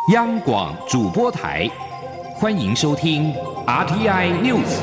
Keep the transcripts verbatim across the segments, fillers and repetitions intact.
央广主播台，欢迎收听 R T I News。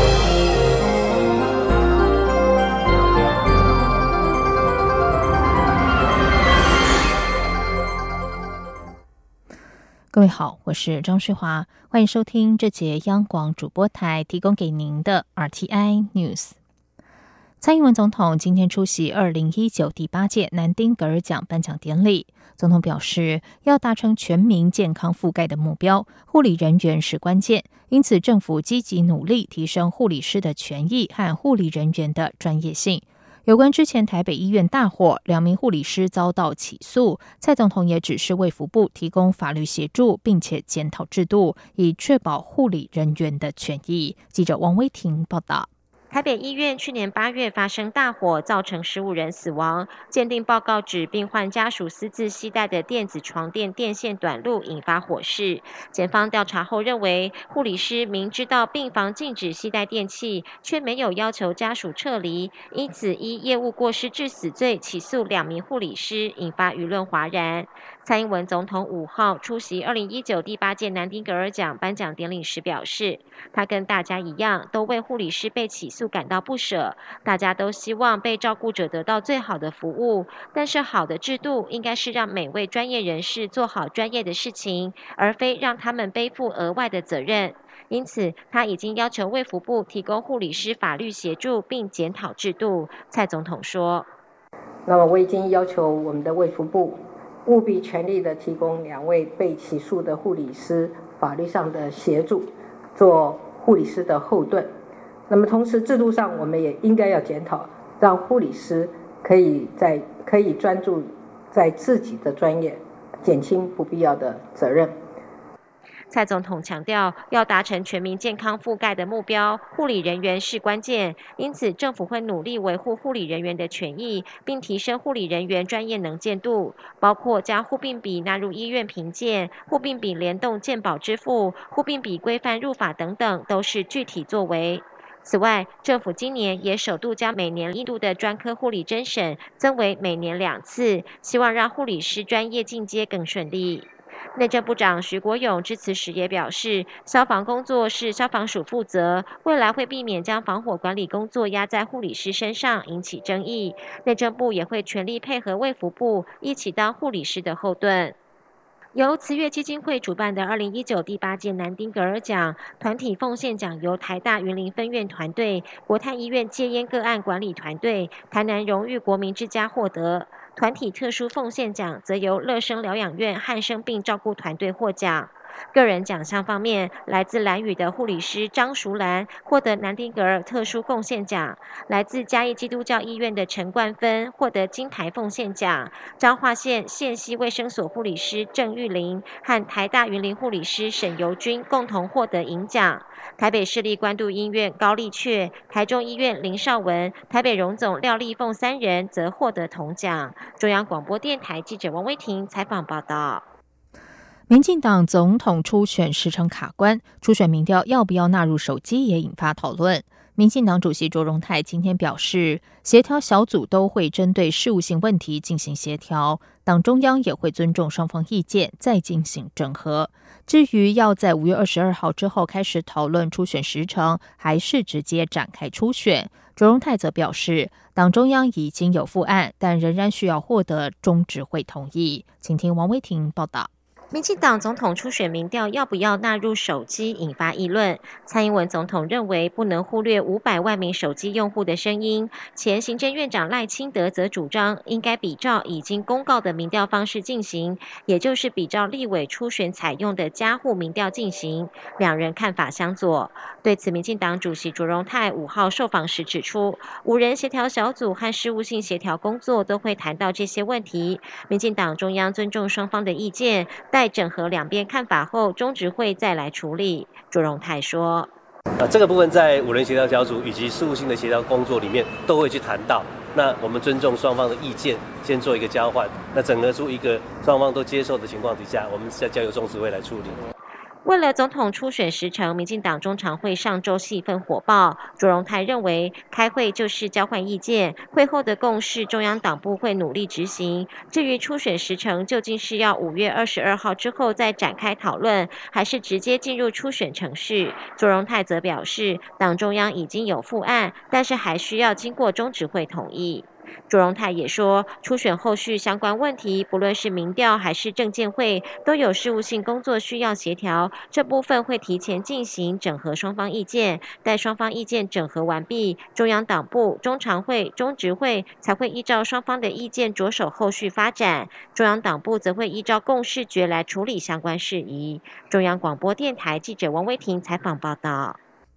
各位好，我是张旭华，欢迎收听这节央广主播台提供给您的 R T I News。蔡英文总统今天出席二零一九第八届南丁格尔奖颁奖典礼。总统表示，要达成全民健康覆盖的目标，护理人员是关键，因此政府积极努力提升护理师的权益和护理人员的专业性。有关之前台北医院大火，两名护理师遭到起诉，蔡总统也指示卫福部提供法律协助，并且检讨制度，以确保护理人员的权益。记者王威婷报道。 台北医院去年八月发生大火，造成十五人死亡。鉴定报告指，病患家属私自携带的电子床垫电线短路，引发火势。检方调查后认为，护理师明知道病房禁止携带电器，却没有要求家属撤离，因此依业务过失致死罪起诉两名护理师，引发舆论哗然。蔡英文总统五号出席二零一九第八届南丁格尔奖颁奖典礼时表示，他跟大家一样，都为护理师被起诉感到不舍，大家都希望被照顾者得到最好的服务，但是好的制度应该是让每位专业人士做好专业的事情，而非让他们背负额外的责任。因此，他已经要求卫福部提供护理师法律协助，并检讨制度。蔡总统说：“ 那么我已经要求我们的卫福部务必全力的提供两位被起诉的护理师法律上的协助，做护理师的后盾。那么同时制度上我们也应该要检讨，让护理师可以在可以专注在自己的专业，减轻不必要的责任。” 蔡总统强调，要达成全民健康覆盖的目标，护理人员是关键，因此政府会努力维护护理人员的权益，并提升护理人员专业能见度，包括将护病比纳入医院评鉴、护病比联动健保支付、护病比规范入法等等，都是具体作为。此外，政府今年也首度将每年一度的专科护理甄审增为每年两次，希望让护理师专业进阶更顺利。内政部长徐国勇致辞时也表示，消防工作是消防署负责，未来会避免将防火管理工作压在护理师身上，引起争议。内政部也会全力配合卫福部，一起当护理师的后盾。由慈悦基金会主办的二零一九第八届南丁格尔奖团体奉献奖由台大云林分院团队、国泰医院戒烟个案管理团队、台南荣誉国民之家获得。团体特殊奉献奖则由乐生疗养院汉生病照顾团队获奖。个人奖项方面，来自兰屿的护理师张淑兰获得南丁格尔特殊贡献奖，来自嘉义基督教医院的陈冠芬获得金牌奉献奖，彰化县县西卫生所护理师郑玉玲和台大云林护理师沈尤君共同获得银奖。台北市立关渡医院高丽雀、台中医院林少文、台北荣总廖丽凤三人则获得铜奖。中央广播电台记者王威婷采访报道。 民进党总统初选时程卡关，初选民调要不要纳入手机也引发讨论。民进党主席卓荣泰今天表示，协调小组都会针对事务性问题进行协调，党中央也会尊重双方意见，再进行整合。至于要在五月二十二号之后开始讨论初选时程，还是直接展开初选，卓荣泰则表示，党中央已经有复案，但仍然需要获得中执会同意。请听王威婷报道。 民进党总统初选民调要不要纳入手机引发议论。蔡英文总统认为不能忽略五百万名手机用户的声音，前行政院长赖清德则主张应该比照已经公告的民调方式进行，也就是比照立委初选采用的家户民调进行。两人看法相左。对此，民进党主席卓荣泰五号受访时指出，五人协调小组和事务性协调工作都会谈到这些问题。民进党中央尊重双方的意见，待整合两边看法后，中执会再来处理。卓荣泰说：“ 呃，这个部分在五人协调小组以及事务性的协调工作里面都会去谈到。那我们尊重双方的意见，先做一个交换，那整合出一个双方都接受的情况底下，我们再交由中执会来处理。” 为了总统初选时程，民进党中常会上周气氛火爆。卓荣泰认为，开会就是交换意见，会后的共识中央党部会努力执行。至于初选时程究竟是要五月二十二号之后再展开讨论，还是直接进入初选程序，卓荣泰则表示，党中央已经有复案，但是还需要经过中执会同意。卓荣泰也说，初选后续相关问题，不论是民调还是政见会，都有事务性工作需要协调，这部分会提前进行整合双方意见，待双方意见整合完毕，中央党部、中常会、中执会才会依照双方的意见着手后续发展，中央党部则会依照共识决来处理相关事宜。中央广播电台记者王威婷采访报道。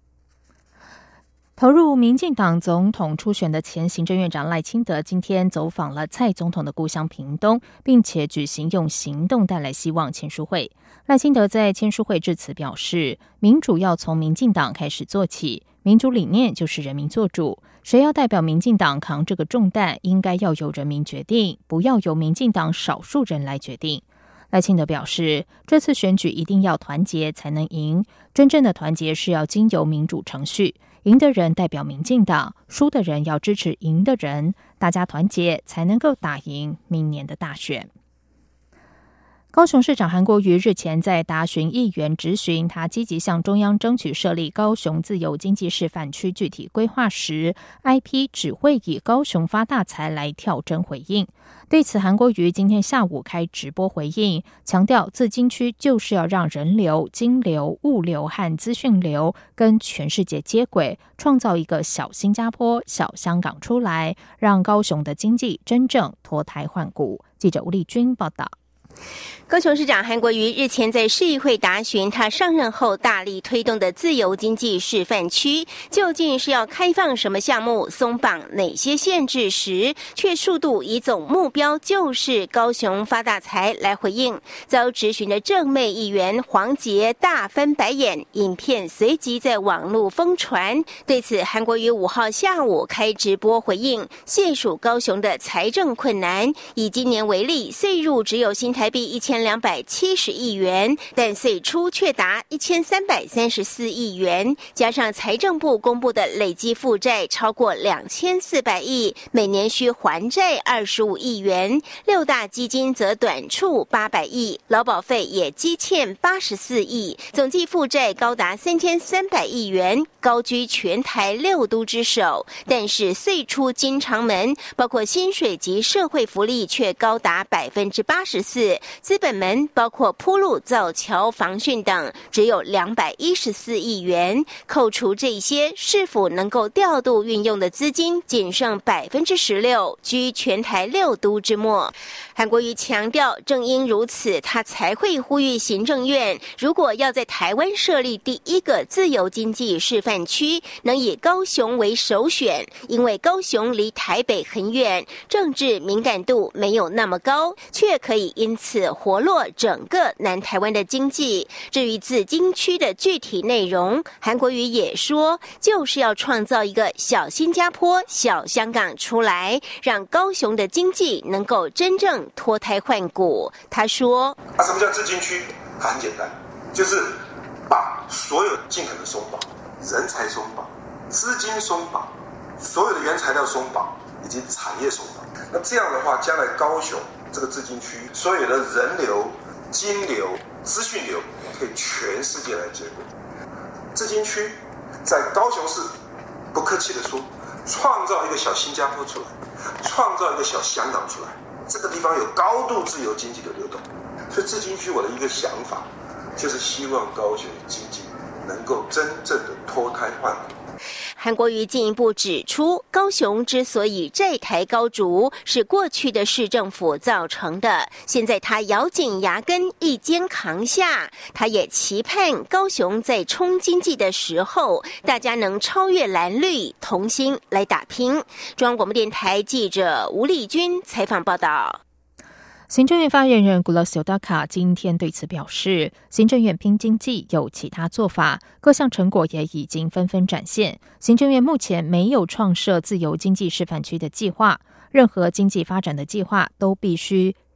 投入民进党总统初选的前行政院长赖清德今天走访了蔡总统的故乡屏东，并且举行用行动带来希望签书会。赖清德在签书会致辞表示，民主要从民进党开始做起，民主理念就是人民做主，谁要代表民进党扛这个重担，应该要由人民决定，不要由民进党少数人来决定。赖清德表示，这次选举一定要团结才能赢，真正的团结是要经由民主程序，赢的人代表民进党，输的人要支持赢的人，大家团结才能够打赢明年的大选。高雄市长韩国瑜日前在答询议员质询他积极向中央争取设立高雄自由经济示范区具体规划时， I P 只会以高雄发大财来跳针回应。对此，韩国瑜今天下午开直播回应，强调自经区就是要让人流、金流、物流和资讯流跟全世界接轨，创造一个小新加坡、小香港出来，让高雄的经济真正脱胎换骨。记者吴丽君报道。 高雄市长韩国瑜日前在市议会答询他上任后大力推动的自由经济示范区究竟是要开放什么项目、松绑哪些限制时，却数度以总目标就是高雄发大财来回应，遭质询的正妹议员黄捷大翻白眼，影片随即在网络疯传。对此，韩国瑜五号下午开直播回应，谢数高雄的财政困难，以今年为例，税入只有新台币一千两百七十亿元，但税出却达一千三百三十四亿元，加上财政部公布的累积负债超过两千四百亿，每年需还债二十五亿元，六大基金则短处八百亿，劳保费也积欠八十四亿，总计负债高达三千三百亿元，高居全台六都之首。但是税出经常门，包括薪水及社会福利却高达百分之八十四，资本门包括铺路、造桥、防汛等，只有两百一十四亿元。扣除这些，是否能够调度运用的资金仅剩百分之十六，居全台六都之末。韩国瑜强调，正因如此，他才会呼吁行政院，如果要在台湾设立第一个自由经济示范区，能以高雄为首选，因为高雄离台北很远，政治敏感度没有那么高，却可以因此活络整个南台湾的经济。至于自经区的具体内容，韩国瑜也说，就是要创造一个小新加坡、小香港出来，让高雄的经济能够真正脱胎换骨。他说啊，什么叫自经区？很简单，就是把所有尽可能松绑，人才松绑，资金松绑，所有的原材料松绑，以及产业松绑。那这样的话，将来高雄这个自经区所有的人流、金流、资讯流可以全世界来接轨。自经区在高雄市，不客气的说，创造一个小新加坡出来，创造一个小香港出来，这个地方有高度自由经济的流动。所以自经区我的一个想法，就是希望高雄经济能够真正的脱胎换骨。 韩国瑜进一步指出，高雄之所以债台高筑，是过去的市政府造成的，现在他咬紧牙根一肩扛下。他也期盼高雄在冲经济的时候，大家能超越蓝绿，同心来打拼。中央广播电台记者吴丽君采访报道。 行政院发言人 Gulas Yodaka 今天对此表示，行政院拼经济有其他做法，各项成果也已经纷纷展现。行政院目前没有创设自由经济示范区的计划，任何经济发展的计划都必须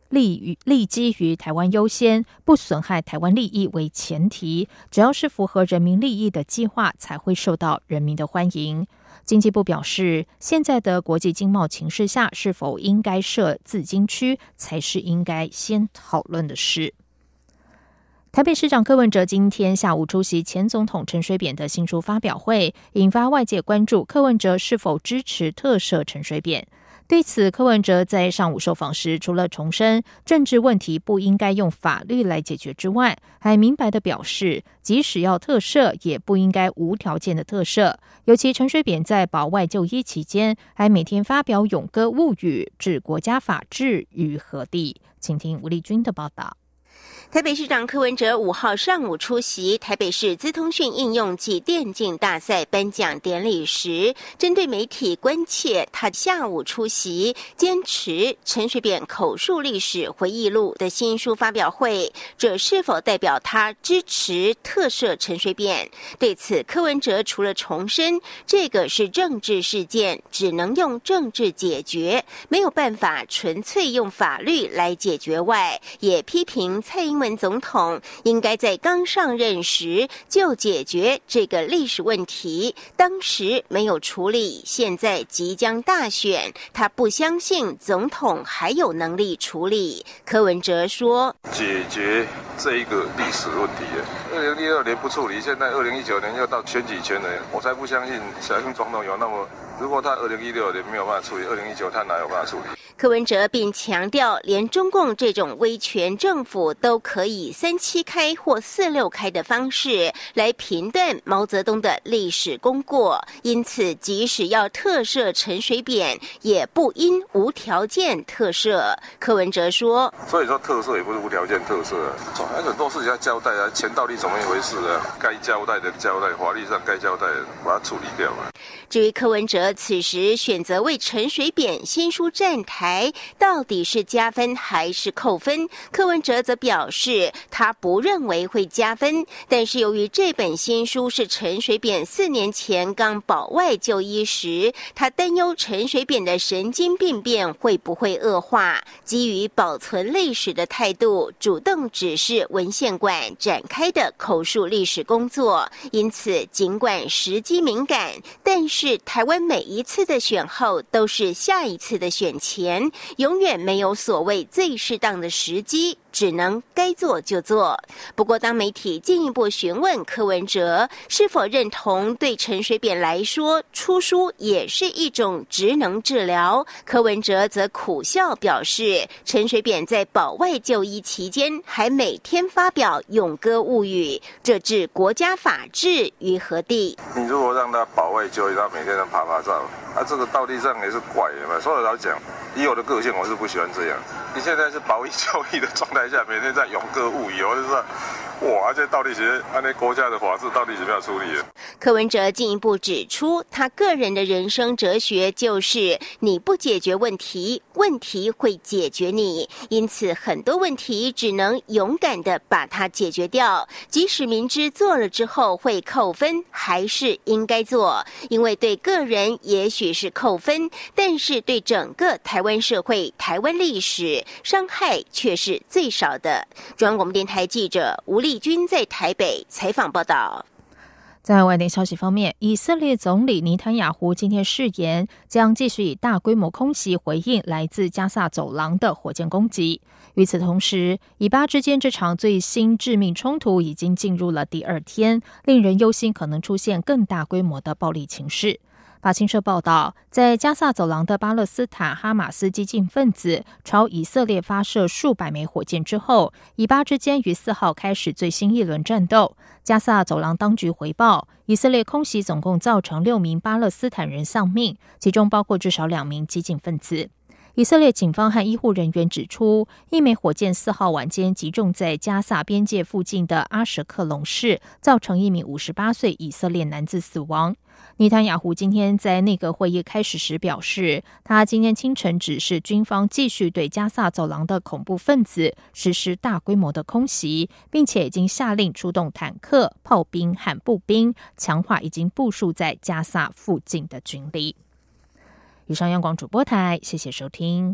立于立基于台湾优先，不损害台湾利益为前提，只要是符合人民利益的计划，才会受到人民的欢迎。经济部表示，现在的国际经贸情势下，是否应该设自经区，才是应该先讨论的事。台北市长柯文哲今天下午出席前总统陈水扁的新书发表会，引发外界关注柯文哲是否支持特赦陈水扁。对此，柯文哲在上午受访时，除了重申政治问题不应该用法律来解决之外，还明白地表示，即使要特赦，也不应该无条件的特赦。尤其陈水扁在保外就医期间，还每天发表咏歌物语，置国家法治于何地？请听吴丽君的报道。 台北市长柯文哲五号上午出席台北市资通讯应用暨电竞大赛颁奖典礼时，针对媒体关切他下午出席坚持陈水扁口述历史回忆录的新书发表会，这是否代表他支持特赦陈水扁？对此，柯文哲除了重申这个是政治事件，只能用政治解决，没有办法纯粹用法律来解决外，也批评蔡英文总统应该在刚上任时就解决这个历史问题，当时没有处理，现在即将大选，他不相信总统还有能力处理。柯文哲说， 解决这一个历史问题，二零一二年不处理，现在二零一九年又到选举前了，我才不相信小英总统有那么，如果他二零一六年没有办法处理，二零一九他哪有办法处理？ 柯文哲并强调，连中共这种威权政府都可以三七开或四六开的方式来评断毛泽东的历史功过，因此即使要特赦陈水扁，也不应无条件特赦。柯文哲说， 所以说特赦也不是无条件特赦，还有很多事情要交代啊，钱到底怎么一回事啊？该交代的交代，法律上该交代的把它处理掉啊。 至于柯文哲此时选择为陈水扁新书站台，到底是加分还是扣分？柯文哲则表示，他不认为会加分，但是由于这本新书是陈水扁四年前刚保外就医时，他担忧陈水扁的神经病变会不会恶化，基于保存历史的态度，主动指示文献馆展开的口述历史工作。因此，尽管时机敏感，但是台湾每一次的选后都是下一次的选前，永远没有所谓最适当的时机，只能该做就做。不过，当媒体进一步询问柯文哲是否认同对陈水扁来说出书也是一种职能治疗，柯文哲则苦笑表示，陈水扁在保外就医期间还每天发表咏歌物语，这置国家法治于何地？ 你如果让他保外就医，他每天都爬爬照，他、啊、这个道理上也是怪的嘛。所以老讲，以我的个性，我是不喜欢这样。你现在是保一就医的状态下，每天在咏歌物语，我就说，哇，这到底是按那国家的法治到底怎么样处理的？ 柯文哲进一步指出，他个人的人生哲学就是你不解决问题，问题会解决你，因此很多问题只能勇敢的把它解决掉，即使明知做了之后会扣分，还是应该做，因为对个人也许是扣分，但是对整个台湾社会、台湾历史伤害却是最少的。中央广播电台记者吴丽君在台北采访报道。 在外电消息方面，以色列总理尼坦雅胡今天誓言将继续以大规模空袭回应来自加萨走廊的火箭攻击。与此同时，以巴之间这场最新致命冲突已经进入了第二天，令人忧心可能出现更大规模的暴力情势。法新社报道，在加萨走廊的巴勒斯坦哈马斯激进分子朝以色列发射数百枚火箭之后，以巴之间于四号开始最新一轮战斗。加萨走廊当局回报，以色列空袭总共造成六名巴勒斯坦人丧命，其中包括至少两名激进分子。以色列警方和医护人员指出，一枚火箭四号晚间击中在加萨边界附近的阿什克隆市，造成一名五十八岁以色列男子死亡。尼坦雅胡今天在内阁会议开始时表示，他今天清晨指示军方继续对加萨走廊的恐怖分子实施大规模的空袭，并且已经下令出动坦克、炮兵和步兵，强化已经部署在加萨附近的军力。以上央广主播台，谢谢收听。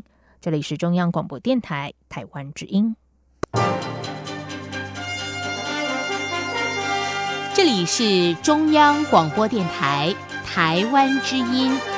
这里是中央广播电台台湾之音。 这里是中央广播电台台湾之音。